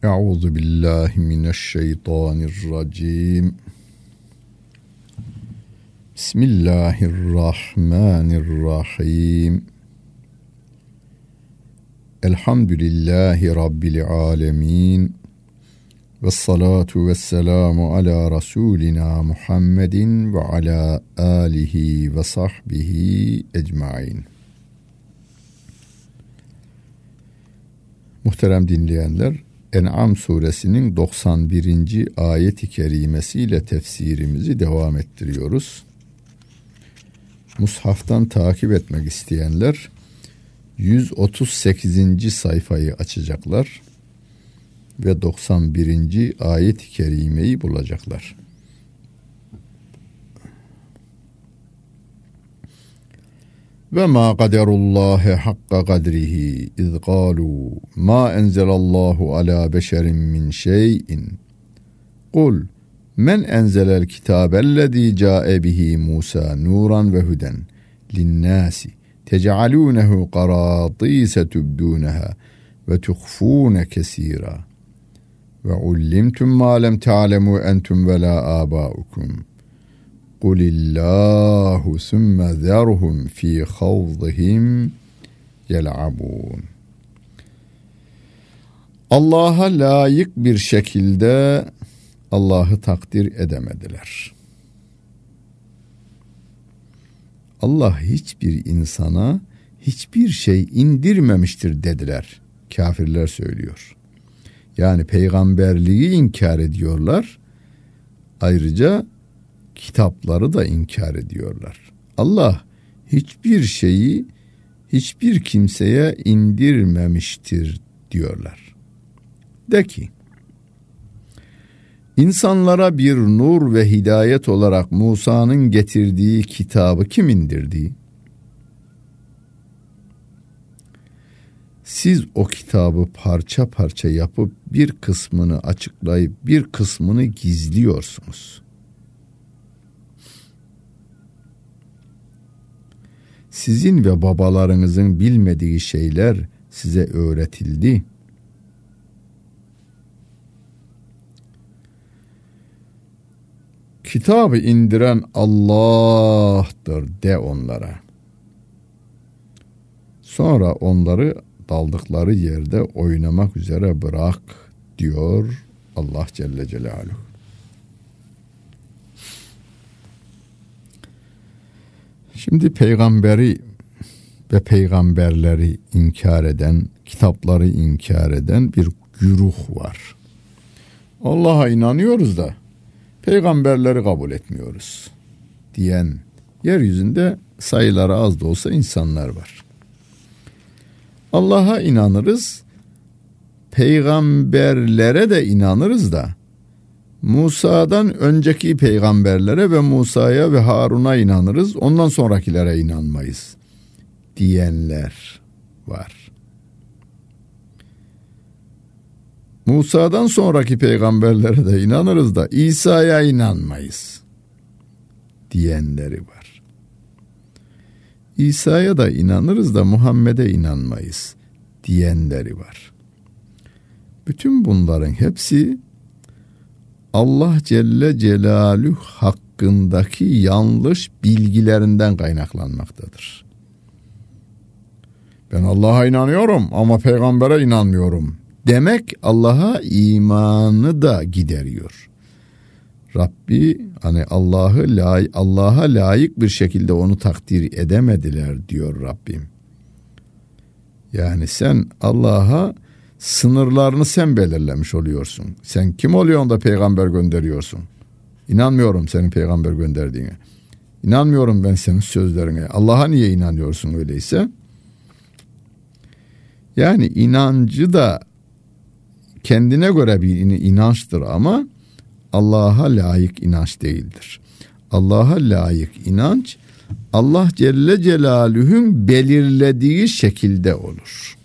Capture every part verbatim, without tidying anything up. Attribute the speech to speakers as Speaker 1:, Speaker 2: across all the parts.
Speaker 1: Euzu billahi mineşşeytanirracim. Bismillahirrahmanirrahim. Elhamdülillahi Rabbil alemin. Vessalatu vesselamu ala Resulina Muhammedin ve ala alihi ve sahbihi ecmain. Muhterem dinleyenler, En'am suresinin doksan birinci ayet-i kerimesiyle tefsirimizi devam ettiriyoruz. Mushaftan takip etmek isteyenler yüz otuz sekizinci sayfayı açacaklar ve doksan birinci ayet-i kerimeyi bulacaklar. Ve ma kaderullahi hakka kadrihi iz galu ma enzelallahu ala beşerin min şeyin kul men enzelel kitabellezî câe bihi Musa nuran ve huden linnâsi tec'alûnehu qarâtîse tubdûneha ve tuhfûne kesîrâ ve ullimtum mâ lem ta'lemû entum ve lâ âbâukum Kulillahu sümme zerhum fi havzihim yel'abun. Allah'a layık bir şekilde Allah'ı takdir edemediler. Allah hiçbir insana hiçbir şey indirmemiştir dediler. Kafirler söylüyor. Yani peygamberliği inkar ediyorlar. Ayrıca kitapları da inkar ediyorlar. Allah hiçbir şeyi hiçbir kimseye indirmemiştir diyorlar. De ki, insanlara bir nur ve hidayet olarak Musa'nın getirdiği kitabı kim indirdi? Siz o kitabı parça parça yapıp bir kısmını açıklayıp bir kısmını gizliyorsunuz. Sizin ve babalarınızın bilmediği şeyler size öğretildi. Kitabı indiren Allah'tır de onlara. Sonra onları daldıkları yerde oynamak üzere bırak diyor Allah Celle Celaluhu. Şimdi peygamberi ve peygamberleri inkar eden, kitapları inkar eden bir güruh var. Allah'a inanıyoruz da peygamberleri kabul etmiyoruz diyen yeryüzünde sayıları az da olsa insanlar var. Allah'a inanırız, peygamberlere de inanırız da Musa'dan önceki peygamberlere ve Musa'ya ve Harun'a inanırız, ondan sonrakilere inanmayız diyenler var. Musa'dan sonraki peygamberlere de inanırız da İsa'ya inanmayız diyenleri var. İsa'ya da inanırız da Muhammed'e inanmayız diyenleri var. Bütün bunların hepsi Allah Celle Celaluhu hakkındaki yanlış bilgilerinden kaynaklanmaktadır. Ben Allah'a inanıyorum ama peygambere inanmıyorum demek Allah'a imanı da gideriyor. Rabbi hani Allah'ı lay- Allah'a layık bir şekilde onu takdir edemediler diyor Rabbim. Yani sen Allah'a sınırlarını sen belirlemiş oluyorsun. Sen kim oluyorsun da peygamber gönderiyorsun? İnanmıyorum senin peygamber gönderdiğine. İnanmıyorum ben senin sözlerine. Allah'a niye inanıyorsun öyleyse? Yani inancı da kendine göre bir inançtır ama Allah'a layık inanç değildir. Allah'a layık inanç Allah Celle Celaluhu'nun belirlediği şekilde olur.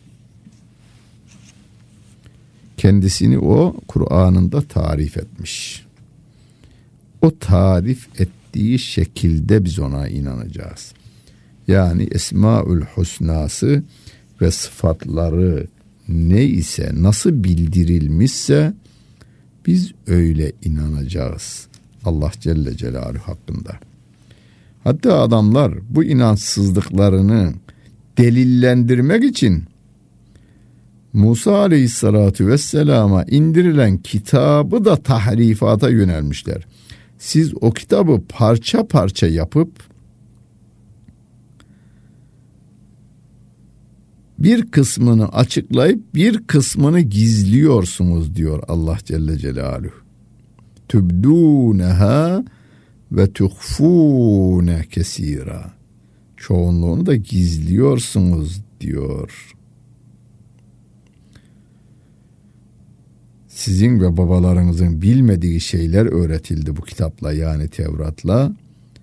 Speaker 1: Kendisini o Kur'an'ında tarif etmiş. O tarif ettiği şekilde biz ona inanacağız. Yani Esmaül Husnası ve sıfatları ne ise, nasıl bildirilmişse biz öyle inanacağız Allah Celle Celaluhu hakkında. Hatta adamlar bu inançsızlıklarını delillendirmek için Musa Aleyhisselatü Vesselam'a indirilen kitabı da tahrifata yönelmişler. Siz o kitabı parça parça yapıp bir kısmını açıklayıp bir kısmını gizliyorsunuz diyor Allah Celle Celaluhu. Tübdûneha ve tuhfûne kesîrâ. Çoğunluğunu da gizliyorsunuz diyor. Sizin ve babalarınızın bilmediği şeyler öğretildi bu kitapla, yani Tevrat'la.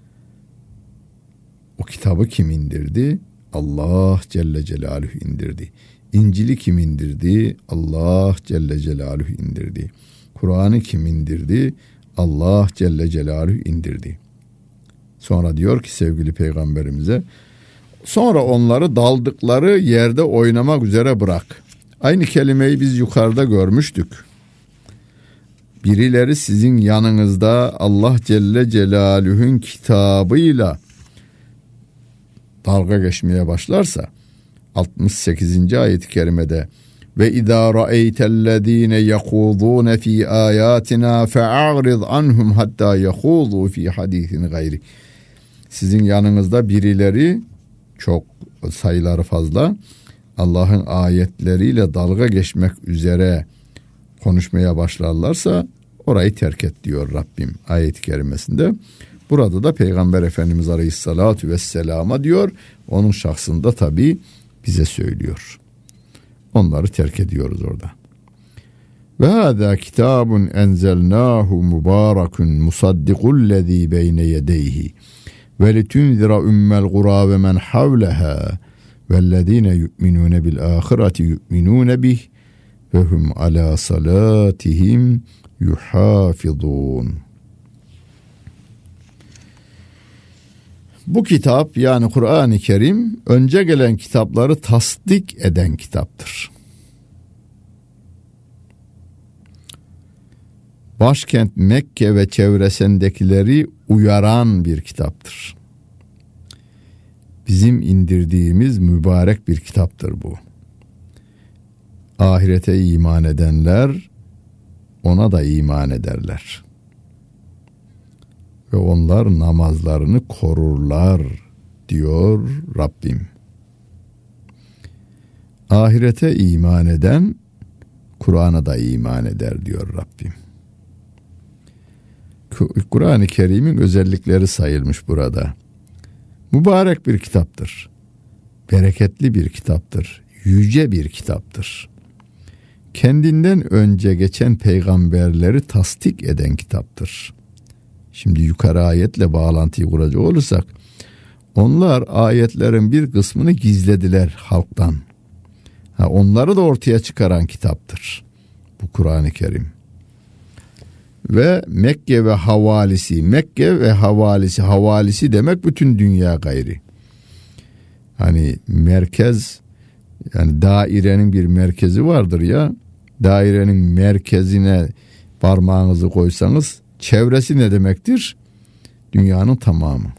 Speaker 1: O kitabı kim indirdi? Allah Celle Celaluhu indirdi. İncil'i kim indirdi? Allah Celle Celaluhu indirdi. Kur'an'ı kim indirdi? Allah Celle Celaluhu indirdi. Sonra diyor ki sevgili peygamberimize, sonra onları daldıkları yerde oynamak üzere bırak. Aynı kelimeyi biz yukarıda görmüştük. Birileri sizin yanınızda Allah Celle Celaluhu'nun kitabıyla dalga geçmeye başlarsa altmış sekizinci ayet-i kerimede ve izâ ra'eytellezîne yekûzûne fî âyâtinâ fe'a'rid anhum hattâ yekûzû fî hadîsin gayri. Sizin yanınızda birileri, çok sayıları fazla, Allah'ın ayetleriyle dalga geçmek üzere konuşmaya başlarlarsa orayı terk et diyor Rabbim ayet-i kerimesinde. Burada da Peygamber Efendimiz Aleyhisselatü Vesselam'a diyor, onun şahsında tabi bize söylüyor. Onları terk ediyoruz orada. Ve hâzâ kitâbun enzelnâhu mübârekun musaddikullezî beyne yedeyhi ve litunzira ümmel gurâ ve men havlehâ vellezîne yu'minûne bil âhireti yu'minûne bih ve hum alâ salâtihim yuhâfizûn. Bu kitap, yani Kur'an-ı Kerim, önce gelen kitapları tasdik eden kitaptır. Başkent Mekke ve çevresindekileri uyaran bir kitaptır. Bizim indirdiğimiz mübarek bir kitaptır bu. Ahirete iman edenler ona da iman ederler. Ve onlar namazlarını korurlar diyor Rabbim. Ahirete iman eden Kur'an'a da iman eder diyor Rabbim. Kur'an-ı Kerim'in özellikleri sayılmış burada. Mübarek bir kitaptır. Bereketli bir kitaptır. Yüce bir kitaptır. Kendinden önce geçen peygamberleri tasdik eden kitaptır. Şimdi yukarı ayetle bağlantıyı kuracak olursak, onlar ayetlerin bir kısmını gizlediler halktan. Ha, onları da ortaya çıkaran kitaptır bu Kur'an-ı Kerim. Ve Mekke ve havalisi, Mekke ve havalisi, havalisi demek bütün dünya gayri. Hani merkez, yani dairenin bir merkezi vardır ya, dairenin merkezine parmağınızı koysanız çevresi ne demektir? Dünyanın tamamı.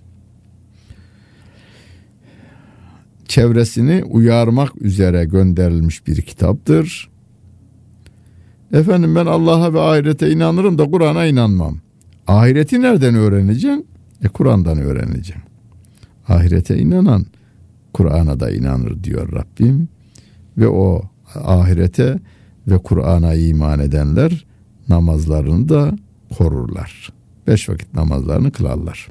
Speaker 1: Çevresini uyarmak üzere gönderilmiş bir kitaptır. Efendim ben Allah'a ve ahirete inanırım da Kur'an'a inanmam. Ahireti nereden öğreneceksin? E Kur'an'dan öğreneceksin. Ahirete inanan Kur'an'a da inanır diyor Rabbim. Ve o ahirete ve Kur'an'a iman edenler namazlarını da korurlar. Beş vakit namazlarını kılarlar.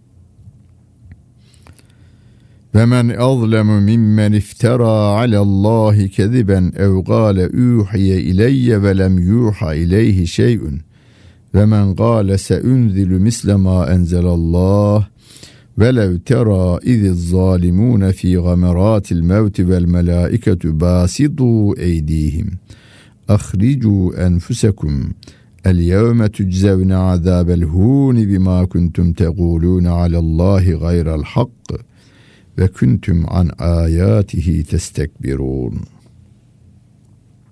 Speaker 1: Ve men azlemu mimmen iftara alallahi keziben ev gâle uhiye ileyye ve lem yuha ileyhi şey'un ve men gâle seunzilu misle ma enzelallah ve lev tera iziz zalimûne fî gamerâtil mevti vel melâiketu bâsidû eydîhim ahricû enfusekum el yevme tüczevne azâbel hûni bimâ kuntum tegûlûne alallâhi gayrel hakkı ve kuntum an ayatihi testekbirun.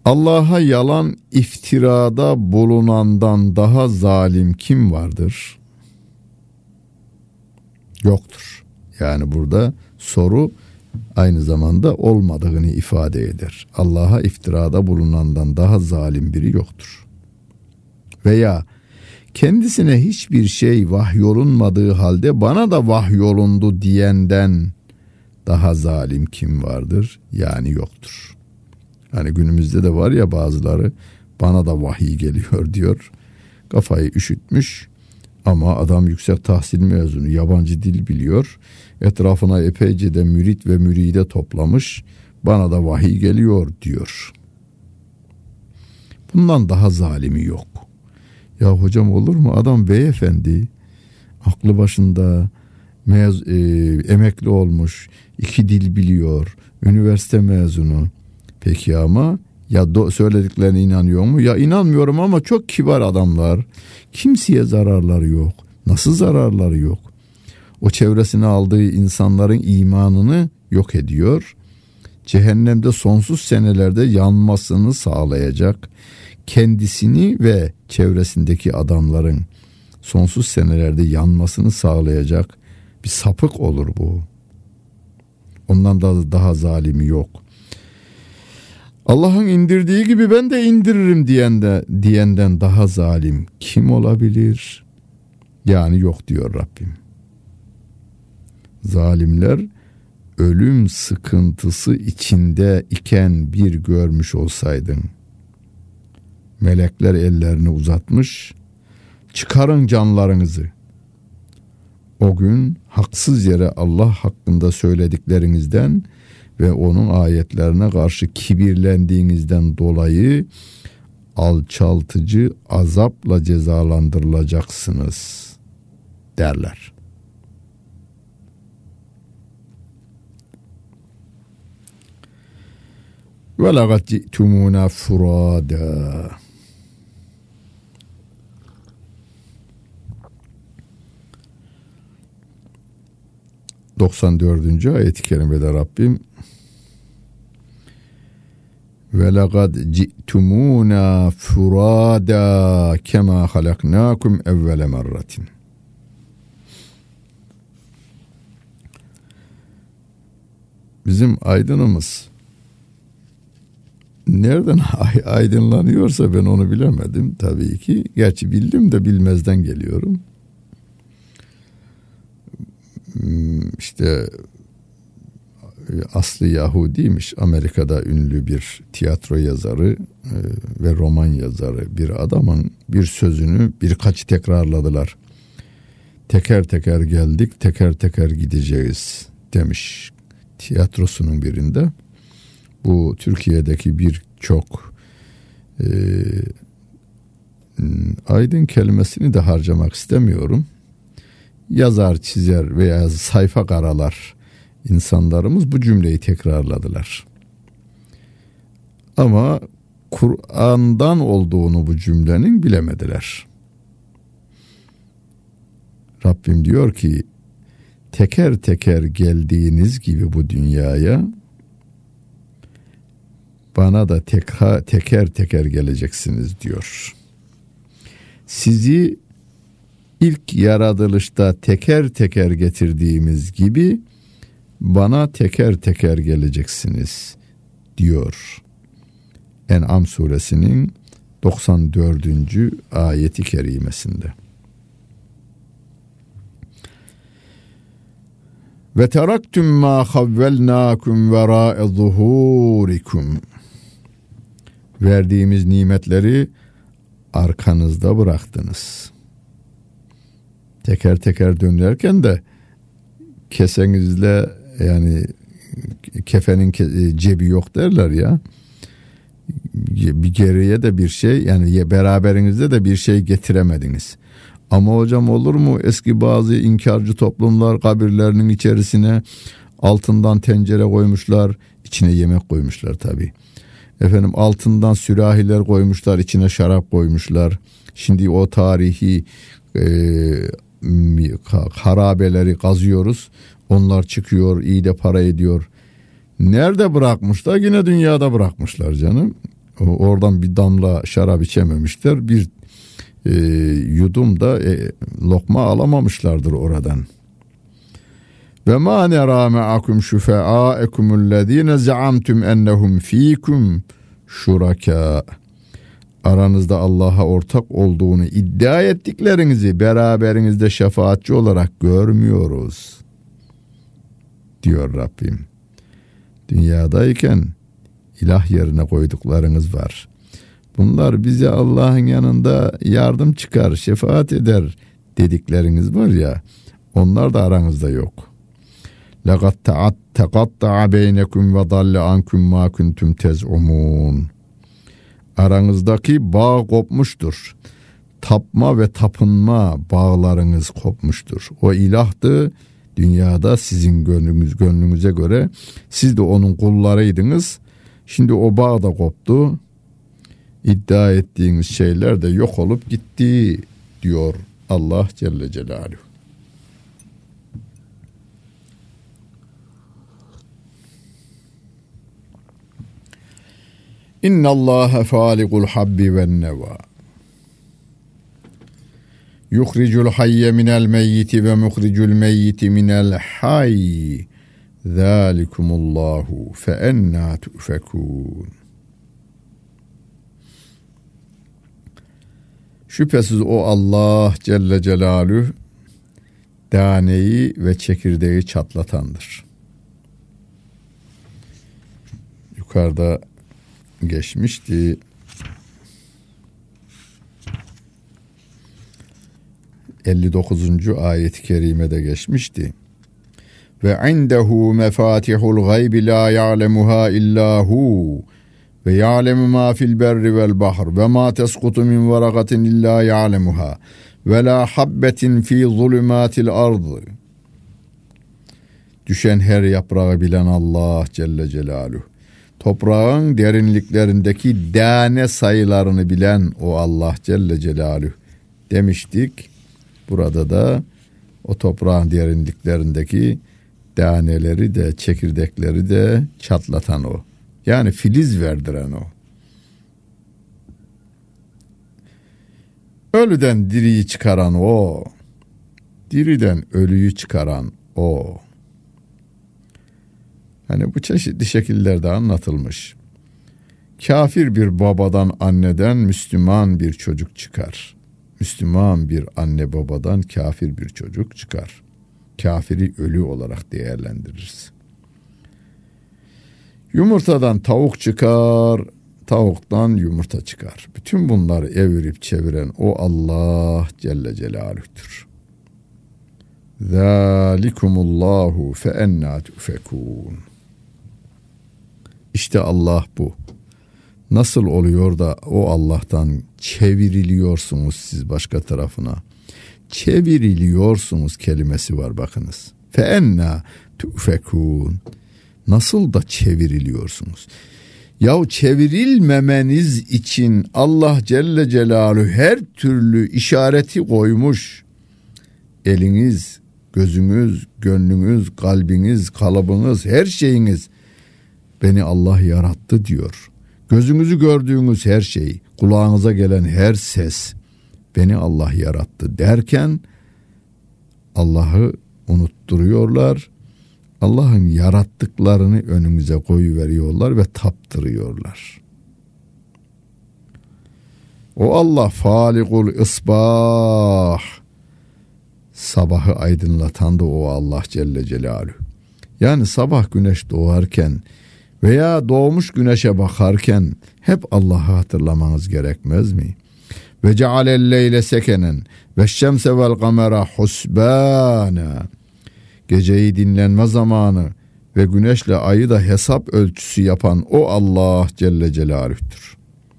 Speaker 1: Allah'a yalan iftirada bulunandan daha zalim kim vardır? Yoktur. Yani burada soru aynı zamanda olmadığını ifade eder. Allah'a iftirada bulunandan daha zalim biri yoktur. Veya kendisine hiçbir şey vahyolunmadığı halde bana da vahyolundu diyenden daha zalim kim vardır? Yani yoktur. Hani günümüzde de var ya bazıları bana da vahiy geliyor diyor. Kafayı üşütmüş ama adam yüksek tahsil mezunu, yabancı dil biliyor. Etrafına epeyce de mürit ve müride toplamış. Bana da vahiy geliyor diyor. Bundan daha zalimi yok. Ya hocam olur mu? Adam beyefendi, aklı başında, mez, e, emekli olmuş, iki dil biliyor, üniversite mezunu. Peki ama ya do, söylediklerine inanıyor mu? Ya inanmıyorum ama çok kibar adamlar. Kimseye zararları yok. Nasıl zararları yok? O çevresine aldığı insanların imanını yok ediyor. Cehennemde sonsuz senelerde yanmasını sağlayacak, kendisini ve çevresindeki adamların sonsuz senelerde yanmasını sağlayacak bir sapık olur bu. Ondan da daha zalimi yok. Allah'ın indirdiği gibi ben de indiririm diyen de, diyenden daha zalim kim olabilir? Yani yok diyor Rabbim. Zalimler ölüm sıkıntısı içinde iken bir görmüş olsaydın. Melekler ellerini uzatmış, çıkarın canlarınızı. O gün haksız yere Allah hakkında söylediklerinizden ve onun ayetlerine karşı kibirlendiğinizden dolayı alçaltıcı azapla cezalandırılacaksınız derler. Ve laqad ci'tumuna furada. doksan dördüncü ayet-i kerimede Rabbim ve laqad ci'tumuna furada kema halaknakum evvele merratin. Bizim aydınımız nereden aydınlanıyorsa ben onu bilemedim tabii ki. Gerçi bildim de bilmezden geliyorum. İşte aslı Yahudiymiş. Amerika'da ünlü bir tiyatro yazarı ve roman yazarı bir adamın bir sözünü birkaç tekrarladılar. Teker teker geldik, teker teker gideceğiz demiş tiyatrosunun birinde. Bu Türkiye'deki birçok e, aydın kelimesini de harcamak istemiyorum. Yazar, çizer veya sayfa karalar insanlarımız bu cümleyi tekrarladılar. Ama Kur'an'dan olduğunu bu cümlenin bilemediler. Rabbim diyor ki teker teker geldiğiniz gibi bu dünyaya bana da teka, teker teker geleceksiniz diyor. Sizi ilk yaratılışta teker teker getirdiğimiz gibi bana teker teker geleceksiniz diyor. En'am suresinin doksan dördüncü ayeti kerimesinde. Ve teraktum ma havvelnakum vera'a zuhurikum. Verdiğimiz nimetleri arkanızda bıraktınız. Teker teker dönerken de kesenizle yani kefenin cebi yok derler ya. Bir geriye de bir şey yani beraberinizde de bir şey getiremediniz. Ama hocam olur mu eski bazı inkarcı toplumlar kabirlerinin içerisine altından tencere koymuşlar, içine yemek koymuşlar tabii. Efendim altından sürahiler koymuşlar, içine şarap koymuşlar. Şimdi o tarihi e, harabeleri kazıyoruz. Onlar çıkıyor, iyi de para ediyor. Nerede bırakmışlar? Yine dünyada bırakmışlar canım. Oradan bir damla şarap içememişler. Bir e, yudum da e, lokma alamamışlardır oradan. Ve ma nera ma'akum şufa'akumüllezine zaamtum ennehum fikum şuraka. Aranızda Allah'a ortak olduğunu iddia ettiklerinizi beraberinizde şefaatçi olarak görmüyoruz, diyor Rabbim. Dünyadayken ilah yerine koyduklarınız var. Bunlar bize Allah'ın yanında yardım çıkar, şefaat eder dedikleriniz var ya, onlar da aranızda yok. لَقَدْ تَقَطَّعَ بَيْنَكُمْ وَضَلَّ عَنْكُمْ مَا كُنْتُمْ تَزْعُمُونَ. Aranızdaki bağ kopmuştur. Tapma ve tapınma bağlarınız kopmuştur. O ilahtı dünyada sizin gönlünüz, gönlünüze göre. Siz de onun kullarıydınız. Şimdi o bağ da koptu. İddia ettiğiniz şeyler de yok olup gitti, diyor Allah Celle Celaluhu. İnna Allaha falikul habbi ven neva. Yuhricul hayye minel meyyiti ve muhricul meyyiti minel hayy. Zalikumullahu fe enna tufekun. Şüphesiz o Allah Celle Celaluhu daneyi ve çekirdeği çatlatandır. Yukarıda geçmişti. elli dokuzuncu ayet-i kerimede geçmişti. Ve indehu mefatihul gaybi la ya'lemuha illa hu ve ya'lemu ma fil berri vel bahr ve ma tesqutu min varakatin illa ya'lemuha ve la habbetin fi zulumatil ardı. Düşen her yaprağı bilen Allah Celle Celaluhu. Toprağın derinliklerindeki tane sayılarını bilen o Allah Celle Celaluhu demiştik. Burada da o toprağın derinliklerindeki taneleri de çekirdekleri de çatlatan o. Yani filiz verdiren o. Ölüden diriyi çıkaran o. Diriden ölüyü çıkaran o. Hani bu çeşitli şekillerde anlatılmış. Kafir bir babadan, anneden Müslüman bir çocuk çıkar. Müslüman bir anne babadan kafir bir çocuk çıkar. Kafiri ölü olarak değerlendiririz. Yumurtadan tavuk çıkar, tavuktan yumurta çıkar. Bütün bunları evirip çeviren o Allah Celle Celaluh'tür. Zalikumullahu fe enna tufekun. İşte Allah bu. Nasıl oluyor da o Allah'tan çevriliyorsunuz siz başka tarafına? Çevriliyorsunuz kelimesi var bakınız. Fe enna tufekun. Nasıl da çevriliyorsunuz? Yahu çevrilmemeniz için Allah Celle Celaluhu her türlü işareti koymuş. Eliniz, gözünüz, gönlünüz, kalbiniz, kalıbınız, her şeyiniz beni Allah yarattı diyor. Gözünüzü gördüğünüz her şey, kulağınıza gelen her ses beni Allah yarattı derken Allah'ı unutturuyorlar. Allah'ın yarattıklarını önümüze koyuveriyorlar ve taptırıyorlar. O Allah falikul isbah. Sabahı aydınlatan da o Allah Celle Celaluhu. Yani sabah güneş doğarken veya doğmuş güneşe bakarken hep Allah'ı hatırlamanız gerekmez mi? Ve cealel leyle sekenen ve şemse vel kamera husbana. Geceyi dinlenme zamanı ve güneşle ayı da hesap ölçüsü yapan o Allah Celle Celaluh'tür.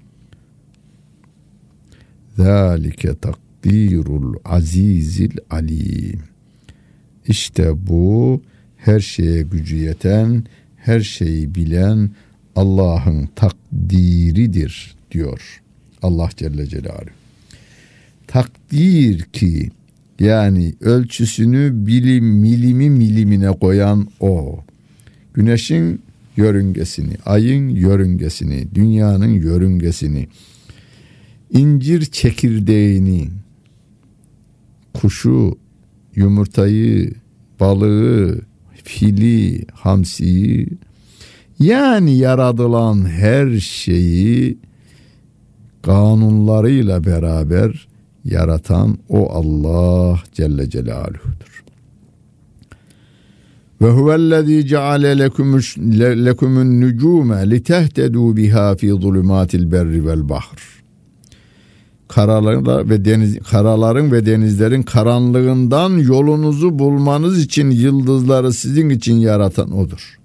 Speaker 1: Zalike takdirul azizil alim. İşte bu her şeye gücü yeten, her şeyi bilen Allah'ın takdiridir diyor Allah Celle Celaluhu. Takdir ki yani ölçüsünü bilim milimi milimine koyan o. Güneşin yörüngesini, ayın yörüngesini, dünyanın yörüngesini, incir çekirdeğini, kuşu, yumurtayı, balığı, fili, hamsiyi, yani yaratılan her şeyi kanunlarıyla beraber yaratan o Allah Celle Celaluhu'dur. Ve huvellezî ceale lekumun nucume litehtedû biha fî zulümâtil berri vel bahr. Karalar ve deniz, karaların ve denizlerin karanlığından yolunuzu bulmanız için yıldızları sizin için yaratan odur.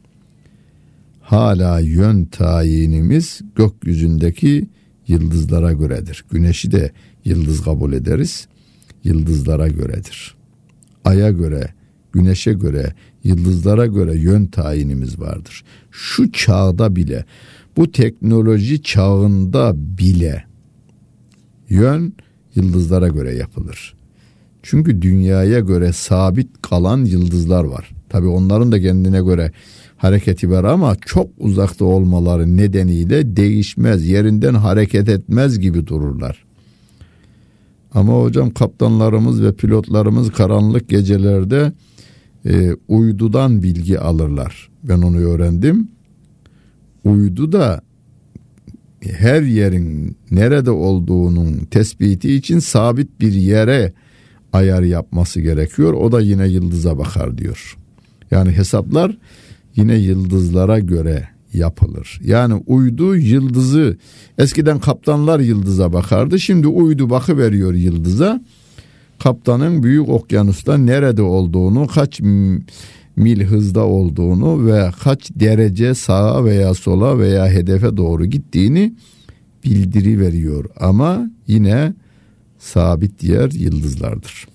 Speaker 1: Hala yön tayinimiz gökyüzündeki yıldızlara göredir. Güneşi de yıldız kabul ederiz. Yıldızlara göredir. Aya göre, güneşe göre, yıldızlara göre yön tayinimiz vardır. Şu çağda bile, bu teknoloji çağında bile yön yıldızlara göre yapılır. Çünkü dünyaya göre sabit kalan yıldızlar var. Tabii onların da kendine göre hareketi var ama çok uzakta olmaları nedeniyle değişmez, yerinden hareket etmez gibi dururlar. Ama hocam kaptanlarımız ve pilotlarımız karanlık gecelerde e, uydudan bilgi alırlar. Ben onu öğrendim. Uydu da her yerin nerede olduğunun tespiti için sabit bir yere ayar yapması gerekiyor. O da yine yıldıza bakar diyor. Yani hesaplar yine yıldızlara göre yapılır. Yani uydu yıldızı, eskiden kaptanlar yıldıza bakardı. Şimdi uydu bakıveriyor yıldıza. Kaptanın büyük okyanusta nerede olduğunu, kaç mil hızda olduğunu ve kaç derece sağa veya sola veya hedefe doğru gittiğini bildiriveriyor. Ama yine sabit yer yıldızlardır.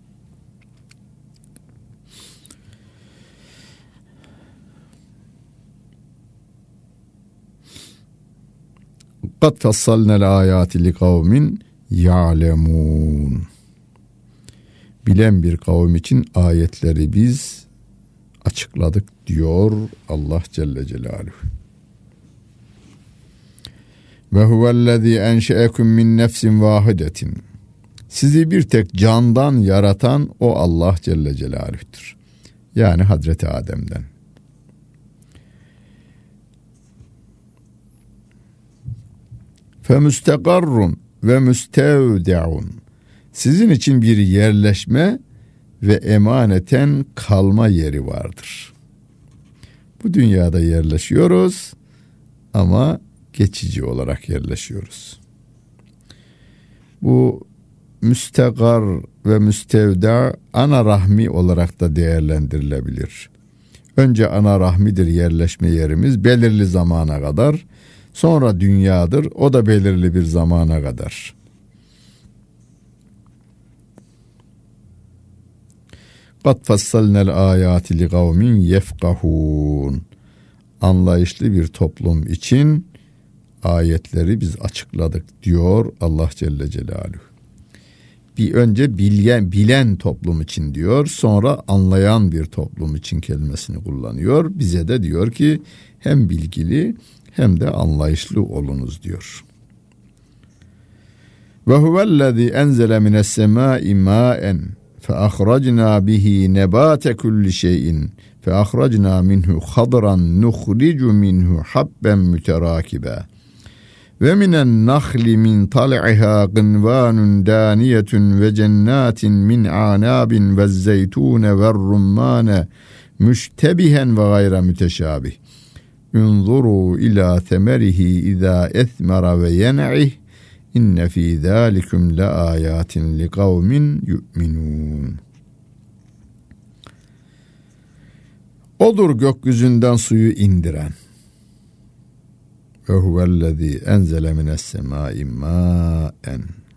Speaker 1: قَدْ فَصَّلْنَا الْآيَاتِ لِقَوْمٍ يَعْلَمُونَ. Bilen bir kavim için ayetleri biz açıkladık diyor Allah Celle Celaluhu. Ve huvellezî enşe'ekum min nefsin vâhidetin. Sizi bir tek candan yaratan o Allah Celle Celaluhu'dur. Yani Hazreti Adem'den. Fe müstekarrun ve müstevde'un. Sizin için bir yerleşme ve emaneten kalma yeri vardır. Bu dünyada yerleşiyoruz ama geçici olarak yerleşiyoruz. Bu müstekar ve müstevda ana rahmi olarak da değerlendirilebilir. Önce ana rahmidir yerleşme yerimiz belirli zamana kadar. Sonra dünyadır, o da belirli bir zamana kadar. قَدْ فَصَّلْنَا الْآيَاتِ لِقَوْمٍ يَفْقَهُونَ. Anlayışlı bir toplum için ayetleri biz açıkladık diyor Allah Celle Celaluhu. Bir önce bilen, bilen toplum için diyor, sonra anlayan bir toplum için kelimesini kullanıyor. Bize de diyor ki hem bilgili hem de anlayışlı olunuz diyor. Ve huvellezî enzele mines semâi mâen fe ahracnâ bihi nebâte kulli şeyin fe ahracnâ minhu hadran nuhricu minhu habben müterâkibe ve minen nahli min tal'iha qınvânun dâniyetun ve cennatin min ânâbin ve zeytûne ve rummâne müştebihen ve gayre müteşâbih. Unzuru ila semerihi izâ esmera ve yen'ih inne fî zâlikum le âyâtin li kavmin yu'minûn. Odur gökyüzünden suyu indiren. Ve huvellezî enzele mines semâi mâen.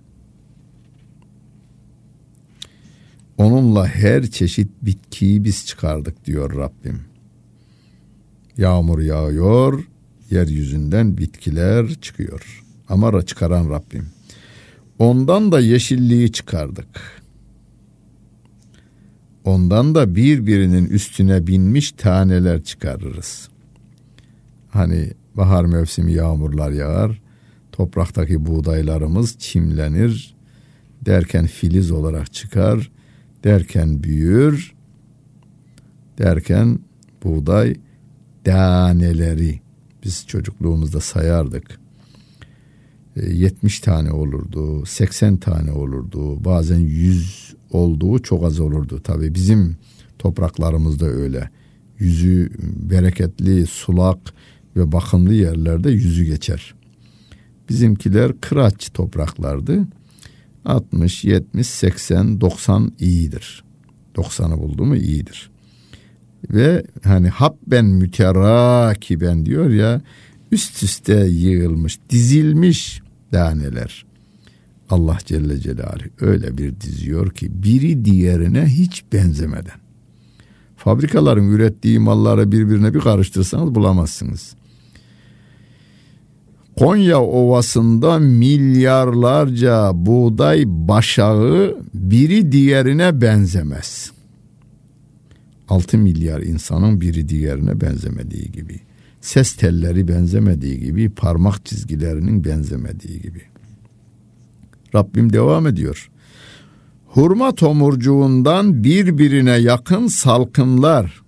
Speaker 1: Onunla her çeşit bitkiyi biz çıkardık diyor Rabbim. Yağmur yağıyor, yeryüzünden bitkiler çıkıyor. Ama çıkaran Rabbim. Ondan da yeşilliği çıkardık. Ondan da birbirinin üstüne binmiş taneler çıkarırız. hani bahar mevsimi yağmurlar yağar, topraktaki buğdaylarımız çimlenir, derken filiz olarak çıkar, derken büyür, derken buğday taneleri, biz çocukluğumuzda sayardık, yetmiş tane olurdu, seksen tane olurdu, bazen yüz olduğu çok az olurdu. Tabii bizim topraklarımızda öyle. Yüzü bereketli, sulak ve bakımlı yerlerde yüzü geçer. Bizimkiler kıraç topraklardı. altmış, yetmiş, seksen, doksan iyidir. doksanı buldu mu iyidir. Ve hani habben müterakiben diyor ya, üst üste yığılmış, dizilmiş taneler. Allah Celle Celaluhu öyle bir diziyor ki biri diğerine hiç benzemeden. Fabrikaların ürettiği malları birbirine bir karıştırsanız bulamazsınız. Konya Ovası'nda milyarlarca buğday başağı biri diğerine benzemez. altı milyar insanın biri diğerine benzemediği gibi, ses telleri benzemediği gibi, parmak çizgilerinin benzemediği gibi. Rabbim devam ediyor. Hurma tomurcuğundan birbirine yakın salkımlar,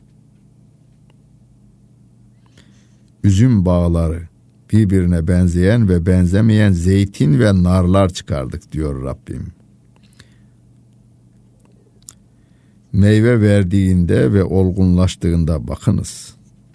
Speaker 1: üzüm bağları, birbirine benzeyen ve benzemeyen zeytin ve narlar çıkardık diyor Rabbim. Meyve verdiğinde ve olgunlaştığında bakınız.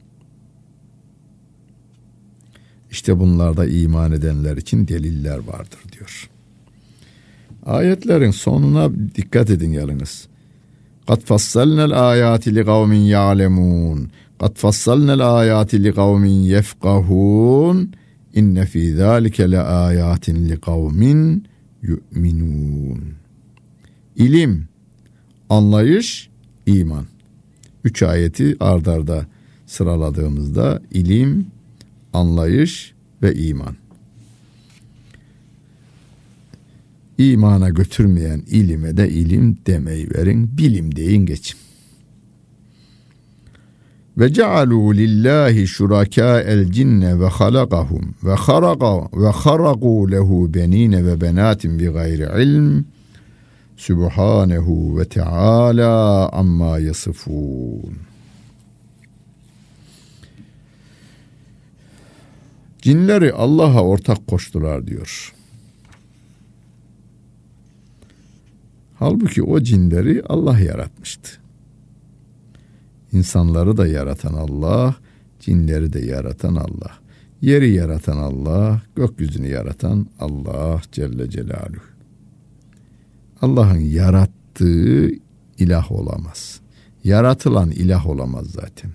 Speaker 1: İşte bunlarda iman edenler için deliller vardır diyor. Ayetlerin sonuna dikkat edin yalnız. قَدْ فَصَّلْنَا الْآيَاتِ لِقَوْمٍ يَعْلَمُونَ قَدْ فَصَّلْنَا الْآيَاتِ لِقَوْمٍ يَفْقَهُونَ اِنَّ فِي ذَٰلِكَ لَآيَاتٍ لِقَوْمٍ يُؤْمِنُونَ. İlim, anlayış, iman. Üç ayeti ard arda sıraladığımızda ilim, anlayış ve iman. İmana götürmeyen ilime de ilim demeyi verin, bilim deyin geçin. Ve cealû lillahi şurakâ'el cinne ve halakahum ve haraka ve harakû lehu benîne ve benâtin bi gayri ilm. Sübhanehu ve Teala amma yasifun. Cinleri Allah'a ortak koştular diyor. Halbuki o cinleri Allah yaratmıştı. İnsanları da yaratan Allah, cinleri de yaratan Allah. Yeri yaratan Allah, gökyüzünü yaratan Allah Celle Celaluhu. Allah'ın yarattığı ilah olamaz. Yaratılan ilah olamaz zaten.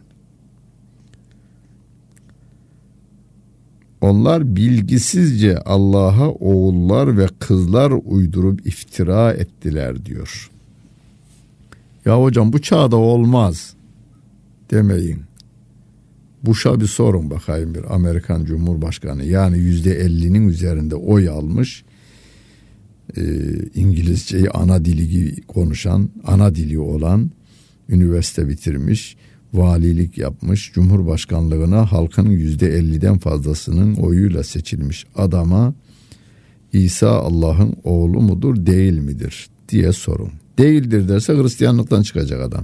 Speaker 1: Onlar bilgisizce Allah'a oğullar ve kızlar uydurup iftira ettiler diyor. Ya hocam bu çağda olmaz demeyin. Bush'a bir sorun bakayım, bir Amerikan Cumhurbaşkanı, yani yüzde ellinin üzerinde oy almış, e, İngilizceyi ana dili gibi konuşan, ana dili olan, üniversite bitirmiş, valilik yapmış, cumhurbaşkanlığına halkın yüzde elliden fazlasının oyuyla seçilmiş adama İsa Allah'ın oğlu mudur değil midir diye sorun. Değildir derse Hristiyanlıktan çıkacak adam.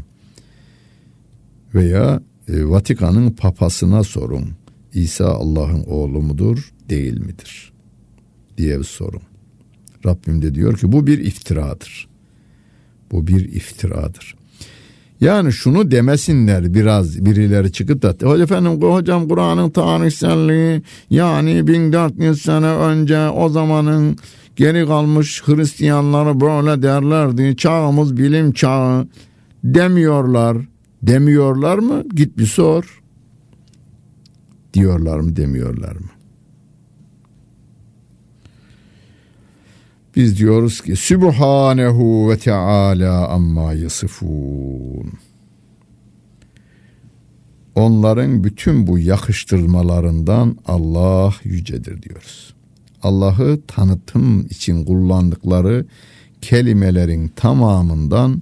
Speaker 1: Veya e, Vatikan'ın papasına sorun. İsa Allah'ın oğlu mudur değil midir diye bir sorun. Rabbim de diyor ki bu bir iftiradır. Bu bir iftiradır. Yani şunu demesinler biraz birileri çıkıp da efendim hocam Kur'an'ın tarihselliği, yani bin dört yüz sene önce o zamanın geri kalmış Hristiyanları böyle derlerdi, çağımız bilim çağı demiyorlar. Demiyorlar mı? Git bir sor. Diyorlar mı, demiyorlar mı? Biz diyoruz ki Sübhanehu ve Teala amma yasifun. Onların bütün bu yakıştırmalarından Allah yücedir diyoruz. Allah'ı tanıtım için kullandıkları kelimelerin tamamından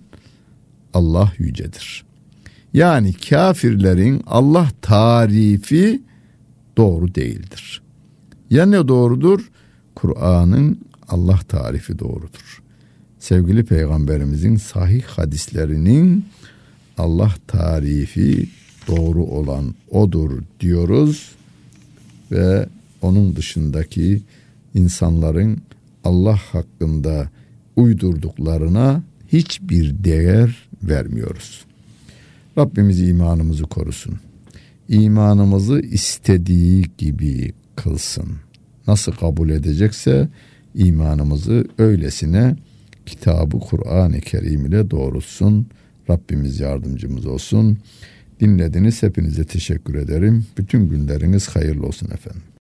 Speaker 1: Allah yücedir. Yani kafirlerin Allah tarifi doğru değildir. Ya ne doğrudur? Kur'an'ın Allah tarifi doğrudur. Sevgili Peygamberimizin sahih hadislerinin Allah tarifi doğru olan odur diyoruz ve onun dışındaki insanların Allah hakkında uydurduklarına hiçbir değer vermiyoruz. Rabbimiz imanımızı korusun. İmanımızı istediği gibi kılsın. Nasıl kabul edecekse imanımızı öylesine kitabı Kur'an-ı Kerim ile doğrultsun. Rabbimiz yardımcımız olsun. Dinlediniz, hepinize teşekkür ederim. Bütün günleriniz hayırlı olsun efendim.